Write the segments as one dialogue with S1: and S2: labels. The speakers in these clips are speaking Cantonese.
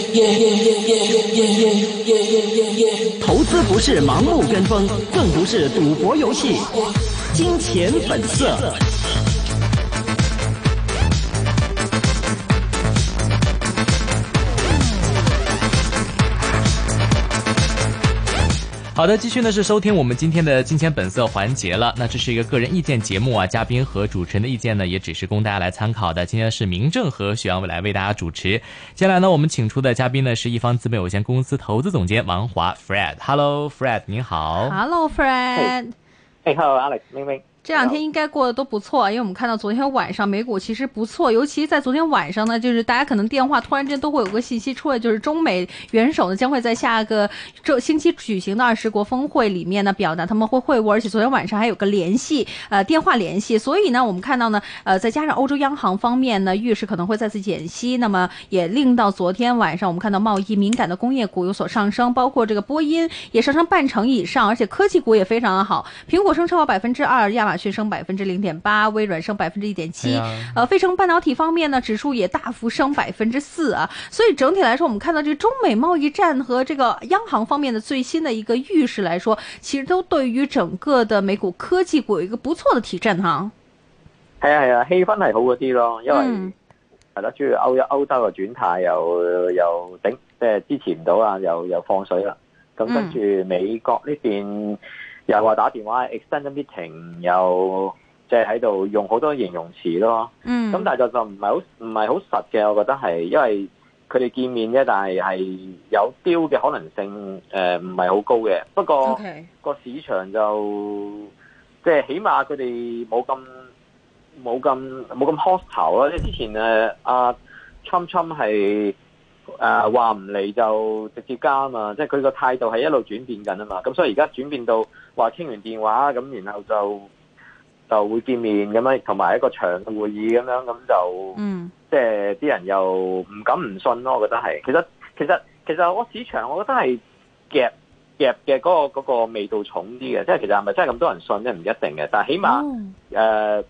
S1: 投资不是盲目跟风，更不是赌博游戏。金钱本色。
S2: 好的，继续呢是收听我们今天的金钱本色环节了。那这是一个个人意见节目啊，嘉宾和主持人的意见呢也只是供大家来参考的。今天是明正和许阳来为大家主持。接下来呢，我们请出的嘉宾呢是一方资本有限公司投资总监王华 Fred。Hello Fred， 您好。
S3: Hello Fred。
S4: Hello Alex， 明明。
S3: 这两天应该过得都不错，因为我们看到昨天晚上美股其实不错，尤其在昨天晚上呢，就是大家可能电话突然间都会有个信息出来，就是中美元首呢将会在下个星期举行的20国峰会里面呢表达他们会会晤，而且昨天晚上还有个电话联系，所以呢我们看到呢再加上欧洲央行方面呢预示可能会再次减息，那么也令到昨天晚上我们看到贸易敏感的工业股有所上升，包括这个波音也上升50%以上，而且科技股也非常的好，苹果升超过2%，亚马逊升0.8%，微软升1.7%，费城半导体方面呢，指数也大幅升4%啊。所以整体来说，我们看到这个中美贸易戰和這個央行方面的最新的一個預示來說，其實都對於整個的美股科技股有一個不錯的提振哈。
S4: 係啊，氣氛係好嗰啲咯，因為係啦，主要歐洲嘅轉態又頂，即係支持唔到啊，又放水啦。咁跟住美國呢邊又話打電話 extend meeting， 又即係喺度用好多形容詞咯。咁但係就唔係好實嘅，我覺得係因為佢哋見面啫，但係有 deal 嘅可能性唔係好高嘅。不過個市場就即係起碼佢哋冇咁 hostile 啦。即係之前Trump 係話唔嚟就直接加啊嘛，即係佢個態度係一路轉變緊啊嘛，咁所以而家轉變到話傾完電話咁，然後就會見面咁樣，同埋一個長嘅會議咁樣，咁就即係啲人又唔敢唔信咯，我覺得係。其實我市場我覺得係夾嘅嗰個味道重啲嘅，即係其實係咪真係咁多人信咧？唔一定嘅，但係起碼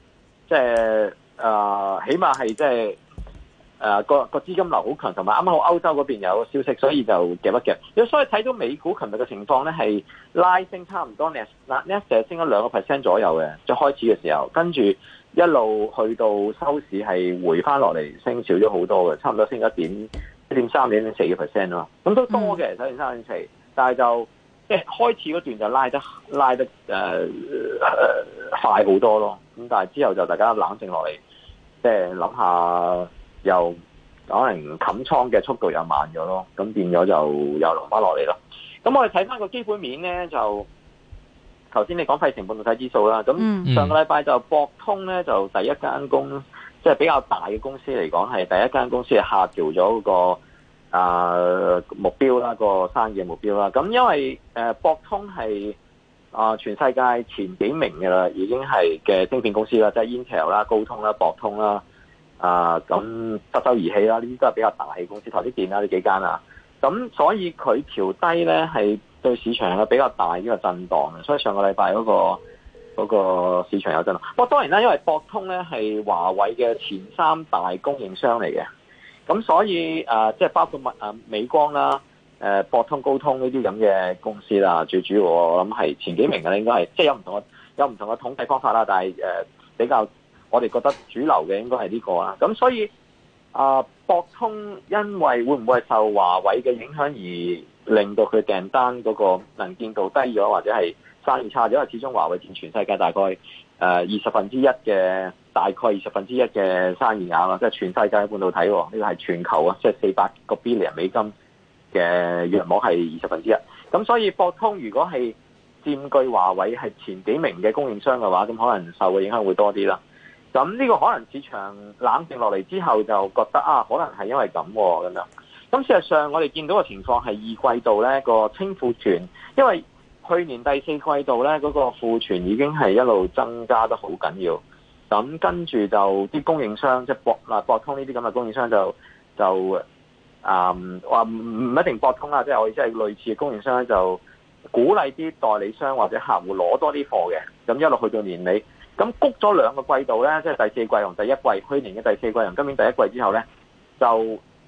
S4: 起碼係即係。個資金流好強，同埋啱啱好歐洲嗰邊有個消息，所以就夾一夾。所以睇到美股琴日嘅情況咧，係拉升差唔多 Nasdaq 升咗2% 左右嘅，最開始嘅時候，跟住一路去到收市係回翻落嚟，升少咗好多嘅，差唔多升咗1.3、1.4% 咯。咁都多嘅，1.3、1.4，但係就即係開始嗰段就拉得快好多咯。咁但係之後就大家冷靜落嚟，即係諗下。又可能冚倉嘅速度又慢咗咯，咁變咗就又落翻落嚟咯。咁我哋睇翻個基本面咧，就頭先你講費城半導體指數啦，咁上個禮拜就博通咧就第一間即係比較大嘅公司嚟講，係第一間公司係下調咗個目標啦，個生意嘅目標啦。咁因為博通係全世界前幾名嘅啦，已經係嘅晶片公司啦，即係 Intel 啦、高通啦、博通啦。咁德州儀器啦，呢啲都係比較大嘅公司，台積電啦呢幾間啊，咁所以佢調低咧係對市場有比較大呢個震盪嘅，所以上個禮拜嗰個市場有震盪。不過當然啦，因為博通咧係華為嘅前3大供應商嚟嘅，咁所以即係包括美光啦、博通、高通呢啲咁嘅公司啦，最主要我諗係前幾名嘅，應該係即係有唔同嘅統計方法啦，但係比較。我哋覺得主流嘅應該係呢個啦，咁所以博通因為會唔會受華為嘅影響而令到佢訂單嗰個能見度低咗，或者係生意差咗？因為始終華為佔全世界大概1/20嘅生意額啦，即係全世界嘅半導體喎，呢個係全球啊，即係400個 billion 美金嘅約莫係1/20。咁所以博通如果係佔據華為係前幾名嘅供應商嘅話，咁可能受嘅影響會多啲啦。咁呢個可能市場冷靜落嚟之後就覺得可能係因為咁樣。咁事實上我哋見到嘅情況係二季度呢個清庫存，因為去年第4季度呢嗰個庫存已經係一路增加得好緊要。咁跟住就啲供應商即係博通呢啲咁嘅供應商就話唔一定博通啦，即係我哋即係類似嘅供應商就鼓勵啲代理商或者客戶攞多啲貨嘅，咁一路去到年尾。咁谷咗2個季度咧，即係第4季同第1季，去年嘅第4季同今年第1季之後咧，就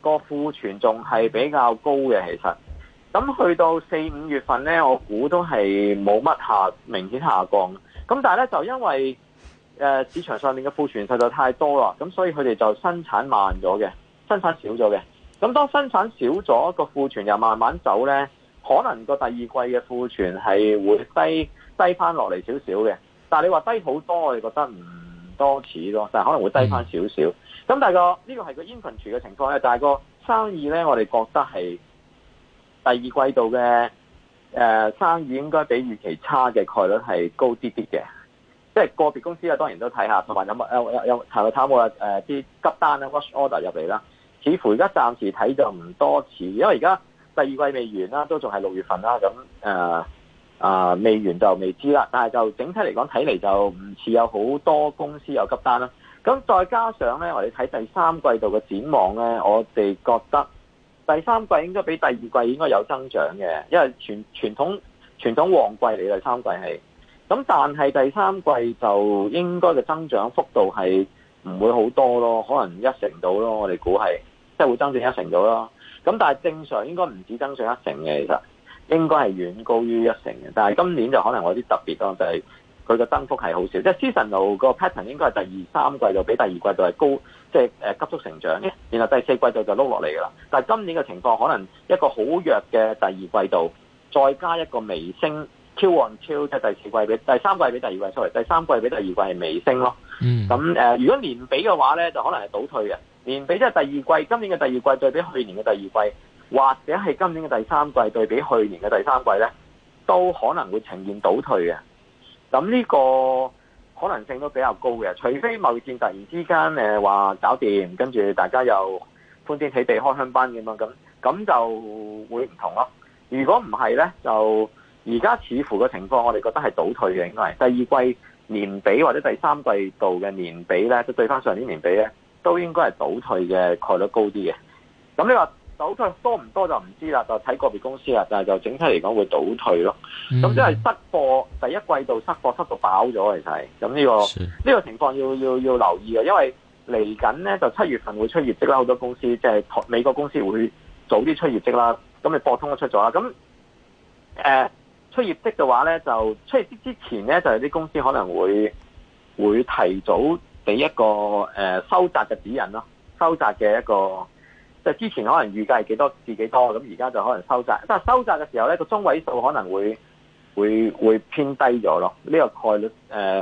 S4: 個庫存仲係比較高嘅，其實。咁去到4、5月份咧，我估都係冇乜明顯下降。咁但係咧就因為市場上面嘅庫存實在太多啦，咁所以佢哋就生產慢咗嘅，生產少咗嘅。咁當生產少咗，個庫存又慢慢走咧，可能個第二季嘅庫存係會低翻落嚟少少嘅。但係你話低好多，我哋覺得唔多似咯，但係可能會低翻少少。咁但係呢個係個 inventory 嘅情況咧，但係個生意咧，我哋覺得係第二季度嘅生意應該比預期差嘅概率係高啲啲嘅。即係個別公司啊，當然都睇下，同埋有冇啲急單咧 rush order 入嚟啦。似乎而家暫時睇就唔多似，因為而家第二季未完啦，都仲係6月份啦。咁未完就未知啦。但係就整體嚟講，睇嚟就唔似有好多公司有急單啦。咁再加上咧，我哋睇第三季度嘅展望咧，我哋覺得第三季應該比第二季應該有增長嘅，因為傳統旺季嚟，第三季係。咁但係第三季就應該嘅增長幅度係唔會好多咯，可能1成到咯，我哋估係即係會增長1成到咯。咁但係正常應該唔止增長1成嘅，其實應該係遠高於1成嘅。但係今年就可能有啲特別咯，就係佢嘅增幅係好少，即係 seasonal 個 pattern 應該係第2、3季度比第二季度係高，即係急速成長嘅。然後第四季度就碌落嚟㗎啦。但係今年嘅情況可能一個好弱嘅第二季度，再加一個微升。Q on Q 即係第三季比第二季，sorry，第三季比第二季係微升咯。咁如果年比嘅話咧，就可能係倒退嘅。年比即係第二季，今年嘅第二季對比去年嘅第二季，或者係今年嘅第三季對比去年嘅第三季咧，都可能會呈現倒退嘅。咁呢個可能性都比較高嘅，除非貿易戰突然之間話搞掂，跟住大家又歡天喜地開香檳咁樣，咁就會唔同咯。如果唔係咧，就而家似乎嘅情況，我哋覺得係倒退嘅，應該係第二季年比或者第三季度嘅年比咧，即對翻上年年比咧，都應該係倒退嘅概率高啲嘅。咁你話倒退多唔多就唔知啦，就睇個別公司啦。但係就整體嚟講會倒退咯。咁即係失貨，第一季度失貨失到飽咗，其實係咁呢個情況要留意嘅，因為嚟緊咧就7月份會出業績啦，好多公司即係美國公司會早啲出業績啦。咁你博通都出咗啦，咁出業績嘅話咧，就出業績之前咧，就有啲公司可能會提早俾一個收窄嘅指引咯，收窄嘅一個即係之前可能預計係幾多至幾多，咁而家就可能收窄。但係收窄嘅時候咧，個中位數可能會偏低咗咯，呢個概率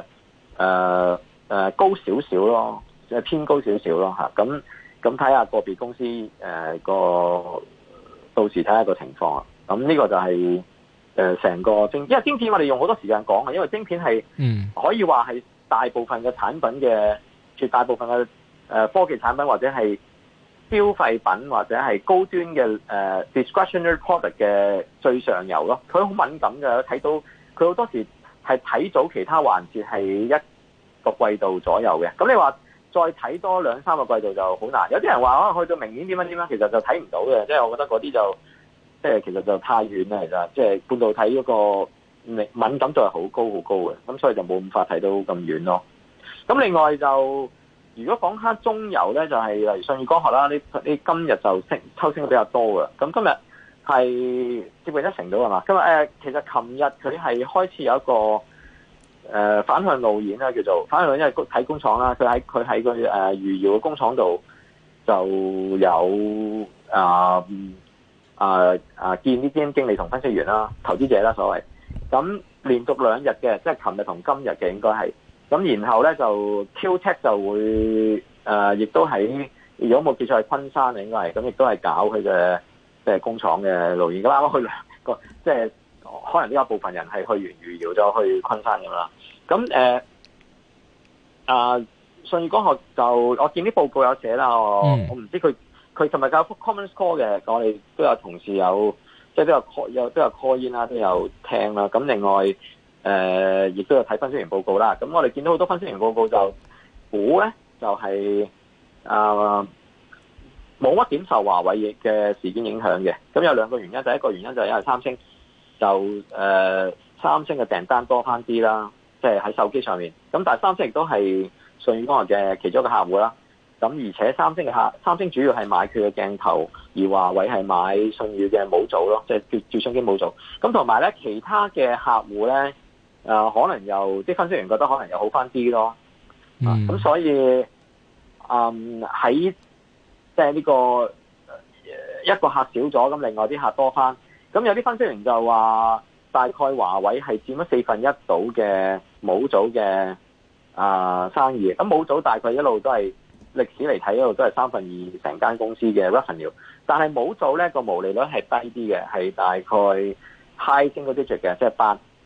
S4: 高少少咯，即係偏高少少咯嚇。咁睇下個別公司到時睇下個情況啊。咁呢個就係。成個因為晶片我哋用好多時間講嘅，因為晶片係可以話係大部分嘅產品嘅絕大部分嘅科技產品或者係消費品或者係高端嘅discretionary product 嘅最上游咯。佢好敏感嘅，睇到佢好多時係睇早其他環節係一個季度左右嘅。咁你話再睇多2、3個季度就好難。有啲人話去到明年點樣，其實就睇唔到嘅。即係我覺得嗰啲就。即係其實就太遠啦，其實即係半導體嗰個敏感度係好高嘅，咁所以就冇咁快睇到咁遠咯。咁另外就如果講下中游咧，就係例如舜宇光學啦，呢今日就抽升得比較多嘅。咁今日係接近1成到係嘛？今日其實琴日佢係開始有一個反向路演啦，叫做反向路演，因為睇工廠啦，佢喺佢餘姚嘅工廠度就有見啲基金經理同分析員啦、投資者啦所謂，咁連續2日嘅，即係琴日同今日嘅應該係，咁然後咧就 QTech 就會亦都喺，如果冇記錯係昆山應該係，咁亦都係搞佢嘅即係工廠嘅路演。咁啱啱去2個，即係可能呢一部分人係去完餘姚咗去昆山咁啦。咁舜宇光學就我見啲報告有寫啦，我唔知佢尋日教 Common Call 嘅，我哋都有同事有，即係都有 call in 啦，都有聽啦。咁另外亦都有睇分析員報告啦。咁我哋見到好多分析員報告就估咧，就係冇乜點受華為嘅事件影響嘅。咁有2個原因，第一個原因就係因為三星嘅訂單多翻啲啦，即係喺手機上面。咁但係三星亦都係舜宇光學嘅其中一個客戶啦。 咁而且三星主要係買佢嘅鏡頭，而華為係買舜宇嘅模組咯，即係照相機模組。咁同埋咧，其他嘅客戶咧，可能又啲分析員覺得可能又好翻啲咯。咁所以喺即係呢個一個客少咗，咁另外啲客多翻。咁有啲分析員就話，大概華為係佔咗1/4到嘅模組嘅生意。咁模組大概一路都係歷史嚟睇，一路都係2/3成間公司嘅 revenue。但係模組咧個毛利率係低啲嘅，係大概 high single digit 嘅，即係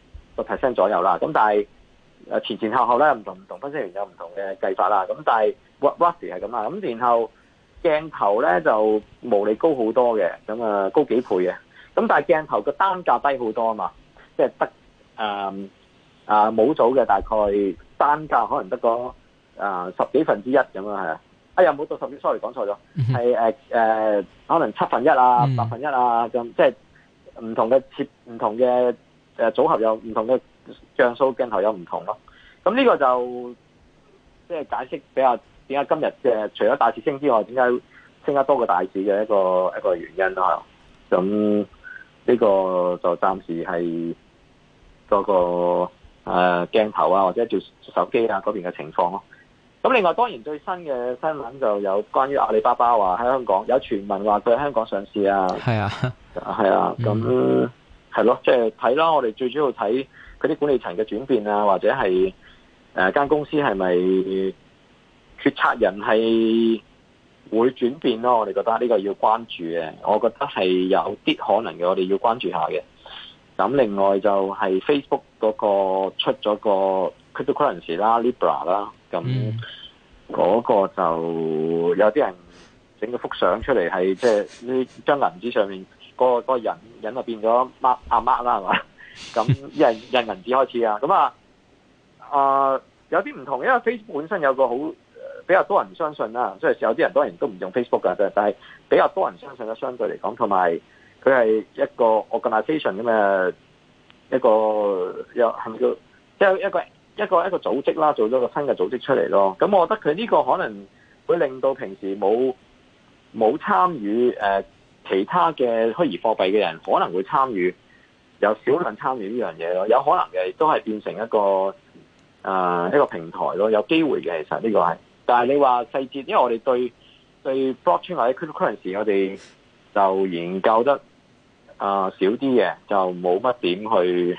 S4: 8% 左右啦。咁但係前後咧唔同分析員有唔同嘅計法啦。咁但係 roughly 係咁啦。咁然後鏡頭咧就毛利高好多嘅，咁高幾倍嘅。咁但係鏡頭個單價低好多啊嘛，即係得模組嘅大概單價可能得個10幾分之一咁啊，係啊，冇到10幾 ，sorry 講錯咗，係可能1/7啊、1/8啊咁，即係唔同嘅組合有唔同嘅像素鏡頭有唔同咯。咁呢個就即係解釋比較點解今日嘅除咗大市升之外，點解升得多過大市嘅一個原因咯。咁呢個就暫時係嗰個鏡頭啊，或者做手機啊嗰邊嘅情況咯。咁另外當然最新嘅新聞就有關於阿里巴巴話喺香港有傳聞話佢喺香港上市啊。係啊，咁係咯，即係睇啦。我哋最主要睇佢啲管理層嘅轉變啊，或者係間公司係咪決策人係會轉變咯。我哋覺得呢個要關注嘅，我覺得係有啲可能嘅，我哋要關注下嘅。咁另外就係 Facebook 嗰個出咗個 cryptocurrency 啦 Libra 啦，咁嗰個就有啲人整咗幅相出嚟，係即係呢張銀紙上面個人就變咗阿媽啦，係嘛？咁印銀紙開始啊，咁有啲唔同，因為 Facebook 本身有個好比較多人相信啦，即係有啲人當然都唔用 Facebook 㗎，但係比較多人相信啦，相對嚟講，同埋佢係一個 organisation 咁嘅一個係咪叫即係一個組織啦，做咗個新嘅組織出嚟咯。咁我覺得佢呢個可能會令到平時冇參與其他嘅虛擬貨幣嘅人可能會參與，有少量參與呢樣嘢咯。有可能嘅都係變成一個平台咯，有機會嘅。其實呢個係，但係你話細節，因為我哋對 blockchain 或者 cryptocurrency 我哋就研究得少啲嘅，就冇乜點去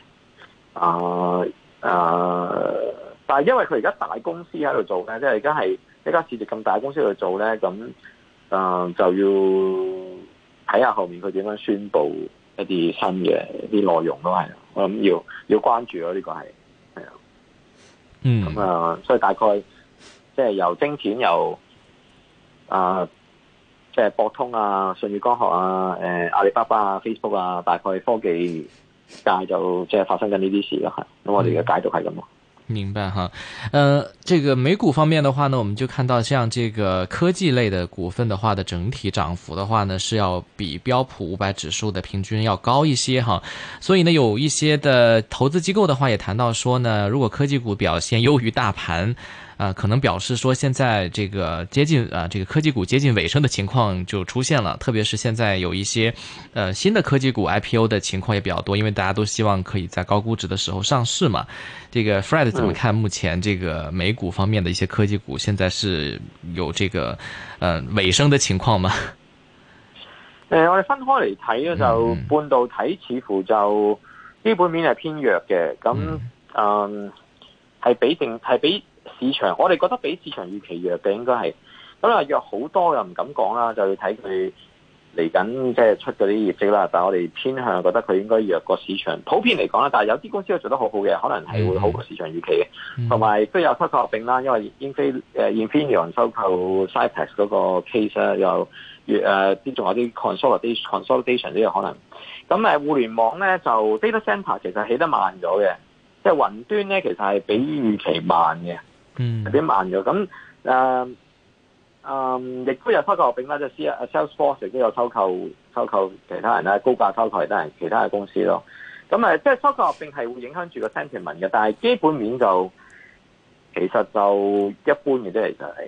S4: 但係因為佢而家大公司喺度做咧，即係而家係一家市值咁大公司喺度做咧，咁就要睇下後面佢點樣宣佈一啲新嘅啲內容咯，係我諗要關注咯，呢個係咁所以大概即係由晶片由即係博通啊、舜宇光學啊、阿里巴巴啊、Facebook 啊，大概科技界就即係發生緊呢啲事咯，係咁我哋嘅解讀係咁咯。
S2: 明白哈，這個美股方面的話呢，我們就看到像這個科技類的股份的話的整體漲幅的話呢，是要比標普500指數的平均要高一些哈，所以呢，有一些的投資機構的話也談到說呢，如果科技股表現優於大盤，可能表示說現在這個接近這個科技股接近尾聲的情況就出現了，特別是現在有一些新的科技股 IPO 的情況也比較多，因為大家都希望可以在高估值的時候上市嘛。這個 Fred 怎麼看目前這個美股方面的一些科技股現在是有這個尾聲的情況嗎？
S4: 我哋分開嚟睇咧，就半導體似乎就基本面係偏弱嘅，咁係比市場，我哋覺得比市場預期弱嘅應該係，咁啊弱好多又唔敢講啦，就要睇佢嚟緊即係出嗰啲業績啦。但係我哋偏向覺得佢應該弱過市場，普遍嚟講啦。但係有啲公司都做得好好嘅，可能係會好過市場預期嘅。同埋都有收購合併啦，因為Infineon 收購 Cypress 嗰個 case 又仲有啲 consolidation 都有可能。咁互聯網咧就 data center 其實起得慢咗嘅，即係雲端咧其實係比預期慢嘅。有啲慢咗，咁亦都有收購合併啦，即係 Salesforce 亦都有收購其他人啦，高價收購其他嘅公司咯。咁即係收購合併係會影響住個 sentiment 嘅，但係基本面就其實就一般嘅啫，其實係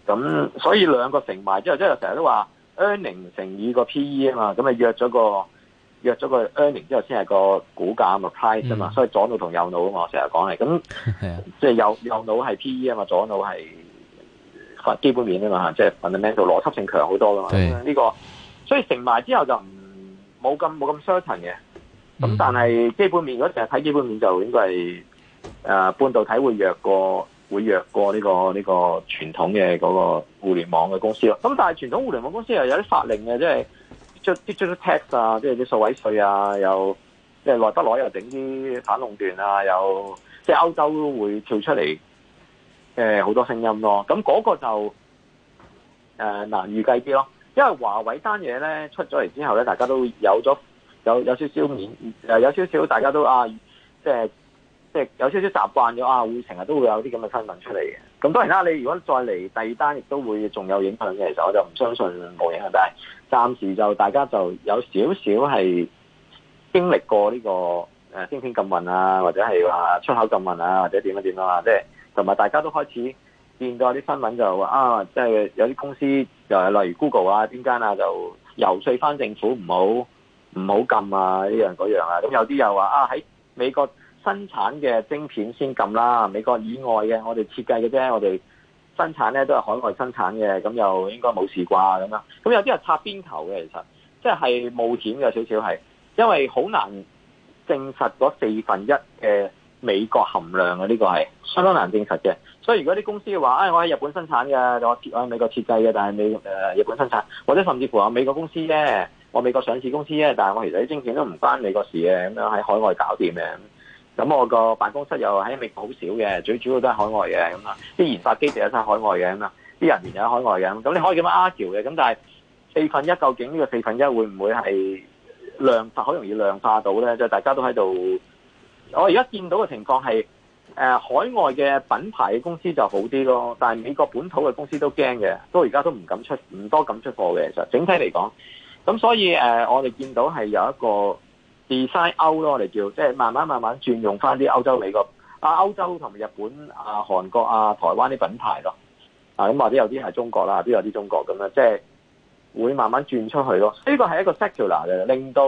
S4: 咁所以兩個乘埋之後，即係成日都話 earning 乘以個 PE 啊嘛，咁啊約咗個 earning 之後先係個股價嘛 price 啊嘛，所以左腦同右腦啊嘛，我成日講係咁，即係右腦係 PE 啊嘛，左腦係基本面啊嘛，即係 fundamental 邏輯性強好多噶嘛，呢個所以乘埋之後就冇咁 certain 嘅，咁但係基本面如果成日睇基本面就應該係半導體會弱過呢個傳統嘅嗰個互聯網嘅公司咯。咁但係傳統互聯網公司又有啲法令嘅，即係digital tax 啊，即係啲數位稅啊，又即係耐不耐又整啲反壟斷啊，又即係歐洲都會跳出嚟好多聲音咯。咁嗰個就難預計啲咯，因為華為單嘢咧出咗嚟之後咧，大家都有少少面有少少大家都即係有少少習慣咗會成日都會有啲咁嘅新聞出嚟嘅。咁當然啦，你如果再嚟第二單，亦都會仲有影響嘅。其實我就唔相信冇影響，但係暫時就大家就有少少係經歷過呢個芯片禁運啊，或者係話出口禁運啊，或者點樣啊，即係同埋大家都開始見到有啲新聞就話即係有啲公司就係例如 Google 啊邊間啊，就遊說翻政府唔好禁啊呢樣嗰樣啊。咁有啲又話喺美國生產嘅晶片先禁啦，美國以外嘅我哋設計嘅啫，我哋生產咧都係海外生產嘅，咁又應該冇事啩咁樣。咁有啲係擦邊球嘅，其實即係冒險嘅少少係，因為好難證實嗰4分1嘅美國含量嘅，呢個係相當難證實嘅。所以如果啲公司話我喺日本生產嘅，我喺美國設計嘅，但係日本生產，或者甚至乎美國公司啫，我美國上市公司啫，但係我其實啲晶片都唔關美國事嘅，咁樣喺海外搞掂嘅。咁我個辦公室又喺美國好少嘅，最主要都係海外嘅咁啊。啲研發基地有晒海外嘅咁啊，啲人員又喺海外嘅咁你可以咁樣 argue 嘅。咁但係4分1究竟呢個4分1會唔會係量化？好容易量化到咧？即係大家都喺度。我而家見到嘅情況係海外嘅品牌嘅公司就好啲咯，但係美國本土嘅公司都驚嘅，都而家都唔多敢出貨嘅。其實整體嚟講，咁所以我哋見到係有一個design out 咯，我哋叫即係慢慢轉用翻啲歐洲、美國歐洲同埋日本韓國台灣啲品牌咯。咁或者有啲係中國啦，都有啲中國咁樣，即係會慢慢轉出去咯。呢個係一個 secular 嘅，令到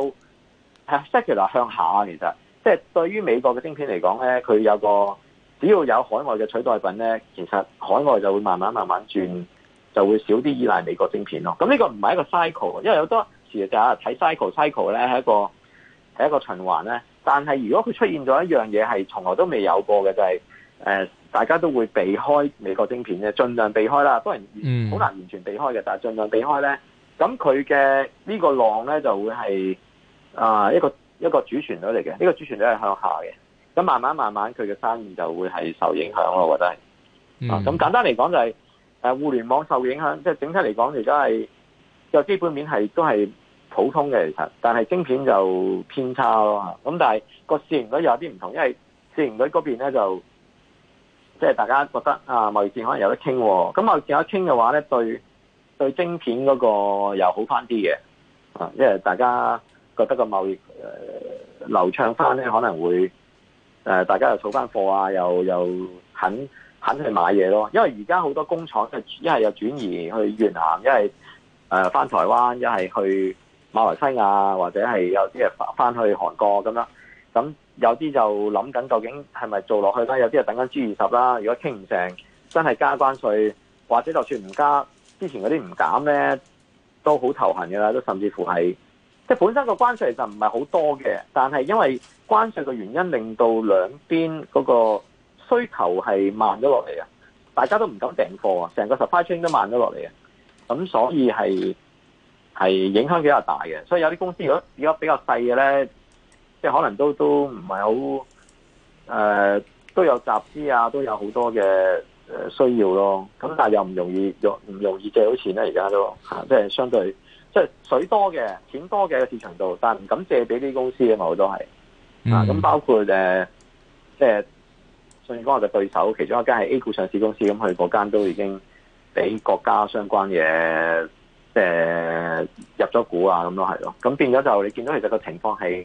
S4: secular 向下。其實即係對於美國嘅晶片嚟講咧，佢有個只要有海外嘅取代品咧，其實海外就會慢慢轉，就會少啲依賴美國晶片咯。咁呢個唔係一個 cycle， 因為好多時就係睇 cycle 咧係一個循環咧，但係如果佢出現咗一樣嘢係從來都未有過嘅，就係大家都會避開美國晶片嘅，盡量避開啦。當然好難完全避開嘅，但係盡量避開咧。咁佢嘅呢個浪咧就會係一個主旋律嚟嘅，呢個主旋律係向下嘅。咁慢慢佢嘅生意就會係受影響咯，我覺得係。咁簡單嚟講就係互聯網受影響，即係整體嚟講而家係個基本面係都係普通嘅，其實，但係晶片就偏差咯。咁但係個市盈率有啲唔同，因為市盈率嗰邊咧就即係大家覺得貿易戰可能有得傾。咁貿易戰有得傾嘅話咧，對晶片嗰個又好翻啲嘅。因為大家覺得個貿易流暢翻咧，可能會大家又儲翻貨又肯去買嘢咯。因為而家好多工廠一係又轉移去越南，一係翻台灣，一係去馬來西亞，或者係有啲係翻去韓國咁樣。咁有啲就諗緊究竟係咪做落去啦？有啲係等緊 G20啦。如果傾唔成，真係加關稅，或者就算唔加，之前嗰啲唔減咧，都好頭痕㗎啦。都甚至乎係即係本身個關稅其實唔係好多嘅，但係因為關稅嘅原因，令到兩邊嗰個需求係慢咗落嚟啊！大家都唔敢訂貨啊，成個 supply chain 都慢咗落嚟啊！咁所以係影響比較大嘅。所以有啲公司如果比較細嘅咧，即係可能都唔係好都有集資啊，都有好多嘅需要咯。咁但係又唔容易借到錢咧，而家都即係相對即係水多嘅錢多嘅市場度，但係唔敢借俾啲公司啊嘛，好多係咁包括即係信義光學嘅對手，其中一間係 A 股上市公司，咁佢嗰間都已經俾國家相關嘅即係入咗股啊，咁都係咯。咁變咗就你見到其實個情況係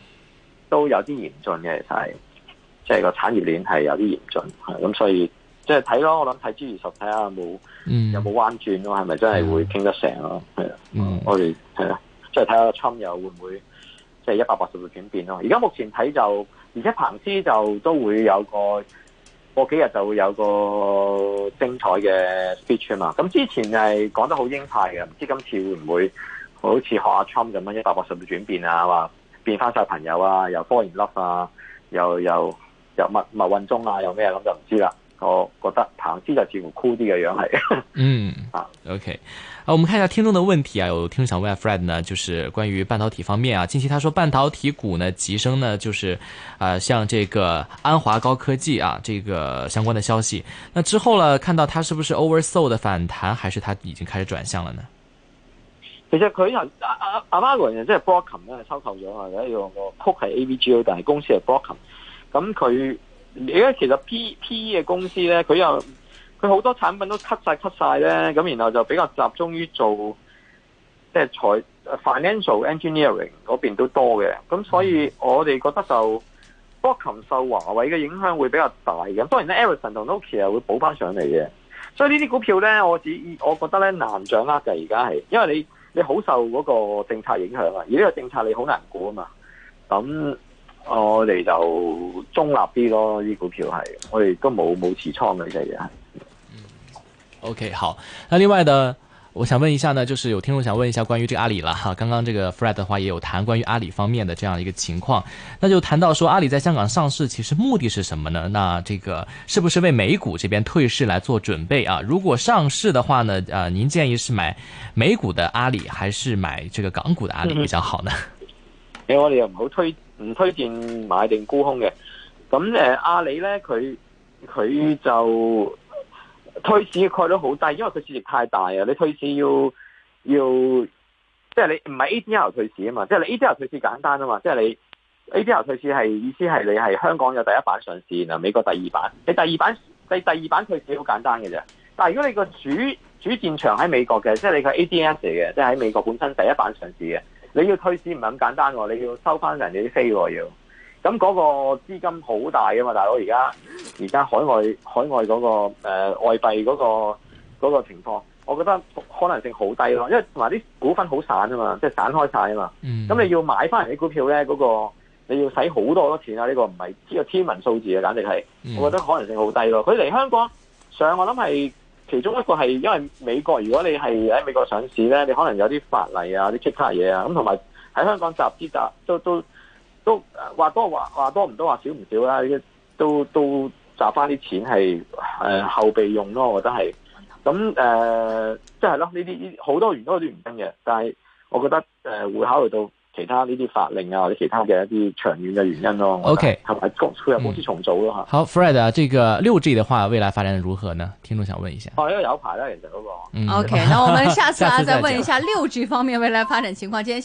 S4: 都有啲嚴峻嘅，其實係即係個產業鏈係有啲嚴峻，咁所以即即係睇咯，我諗睇 G20睇下有冇彎轉咯，係咪真係會傾得成咯？係啊，我哋係啊，即係睇下Trump又會唔會即係180度轉變咯？而家目前睇就，而且彭斯就都會有過幾日就會有個精彩嘅 speech 啊嘛。咁之前係講得好鷹派嘅，唔知今次會唔會好似學阿 Trump 咁樣180度轉變啊？話變翻晒朋友啊，又fall in love啊，又密運中啊，又咩咁就唔知啦。我覺得彭斯就似乎酷啲嘅樣係。
S2: OK， 我們看一下聽眾的問題啊，有聽眾想問 Fred 呢，就是關於半導體方面啊，近期他說半導體股呢急升呢，就是像這個安華高科技啊，這個相關的消息，那之後呢，看到它是不是 oversold 的反彈，還是它已經開始轉向了呢？
S4: 其實佢阿馬雲即係 Broadcom 咧收購咗啊，有一個曲係 AVGO， 但係公司係 Broadcom， 咁佢而家其實 PE 嘅公司咧，佢好多產品都 cut 晒咧，咁然後就比較集中於做即係financial engineering 嗰邊都多嘅，咁所以我哋覺得就 Broadcom 受華為嘅影響會比較大嘅。當然咧 Ericsson 同 Nokia 會補翻上嚟嘅，所以呢啲股票咧，我覺得咧難掌握嘅而家係，因為你好受嗰個政策影響啊，而呢個政策你好難估啊嘛，咁。我哋就中立啲咯，呢股票係我哋都冇持倉嘅呢隻嘢係。
S2: OK， 好。那另外呢，我想問一下呢，就是有聽眾想問一下關於這個阿里了哈。剛剛這個 Fred 的話也有談關於阿里方面的這樣一個情況，那就談到說阿里在香港上市，其實目的是什麼呢？那這個是不是為美股這邊退市來做準備啊？如果上市的話呢，您建議是買美股的阿里，還是買這個港股的阿里比較好呢？
S4: 我哋又唔推薦買定沽空嘅，咁阿里咧佢就退市嘅概率好低，因為佢市值太大啊！你退市要即係你唔係 ADR 退市啊嘛，即係你 ADR 退市簡單啊嘛，即係你 ADR 退市係意思係你係香港有第一版上市，然後美國第二版，你第二版退市好簡單嘅啫。但係如果你個主戰場喺美國嘅，即係你個 ADS 嚟嘅，即係喺美國本身第一版上市嘅。你要退市唔係咁簡單喎，你要收翻人哋啲飛喎要，咁嗰個資金好大噶嘛，大佬而家海外嗰個外幣嗰個情況，我覺得可能性好低咯，因為同埋啲股份好散啊嘛，即係散開晒啊嘛，咁你要買翻人啲股票咧，嗰個你要使好多錢啊，呢個唔係呢個天文數字啊，簡直係，我覺得可能性好低咯。佢嚟香港上，我諗係。其中一個係因為美國，如果你係喺美國上市咧，你可能有啲法例啊、啲其他嘢啊，咁同埋喺香港集資都話多唔多話少唔少啦，都集翻啲錢係後備用咯，我覺得係。咁即係咯，呢啲好多原因都唔真嘅，但係我覺得會考慮到其他呢啲法令啊或者其他嘅一啲長遠嘅原因咯。OK， 同埋佢有公司重組咯嚇。
S2: 好 ，Fred 啊，這個6G 的話，未來發展如何呢？聽眾想問一下。
S4: 因為有排啦，其實嗰個。
S3: OK，那我們下次再問一下6G 方面未來發展情況。今天。